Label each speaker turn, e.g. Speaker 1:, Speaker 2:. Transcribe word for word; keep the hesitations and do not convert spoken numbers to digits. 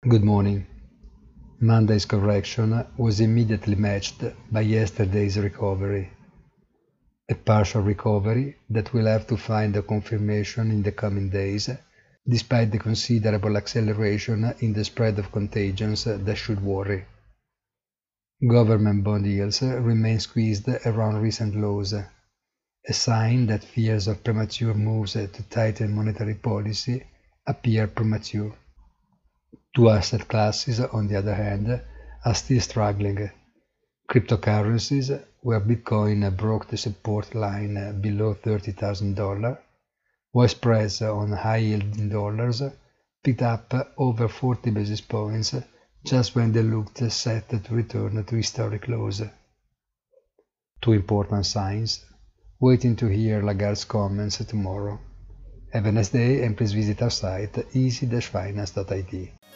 Speaker 1: Good morning. Monday's correction was immediately matched by yesterday's recovery. A partial recovery that will have to find a confirmation in the coming days, despite the considerable acceleration in the spread of contagions that should worry. Government bond yields remain squeezed around recent lows, a sign that fears of premature moves to tighten monetary policy appear premature. Two asset classes, on the other hand, are still struggling. Cryptocurrencies, where Bitcoin broke the support line below thirty thousand dollars, while spreads on high-yielding dollars picked up over forty basis points just when they looked set to return to historic lows. Two important signs, waiting to hear Lagarde's comments tomorrow. Have a nice day and please visit our site easy dash finance dot I T.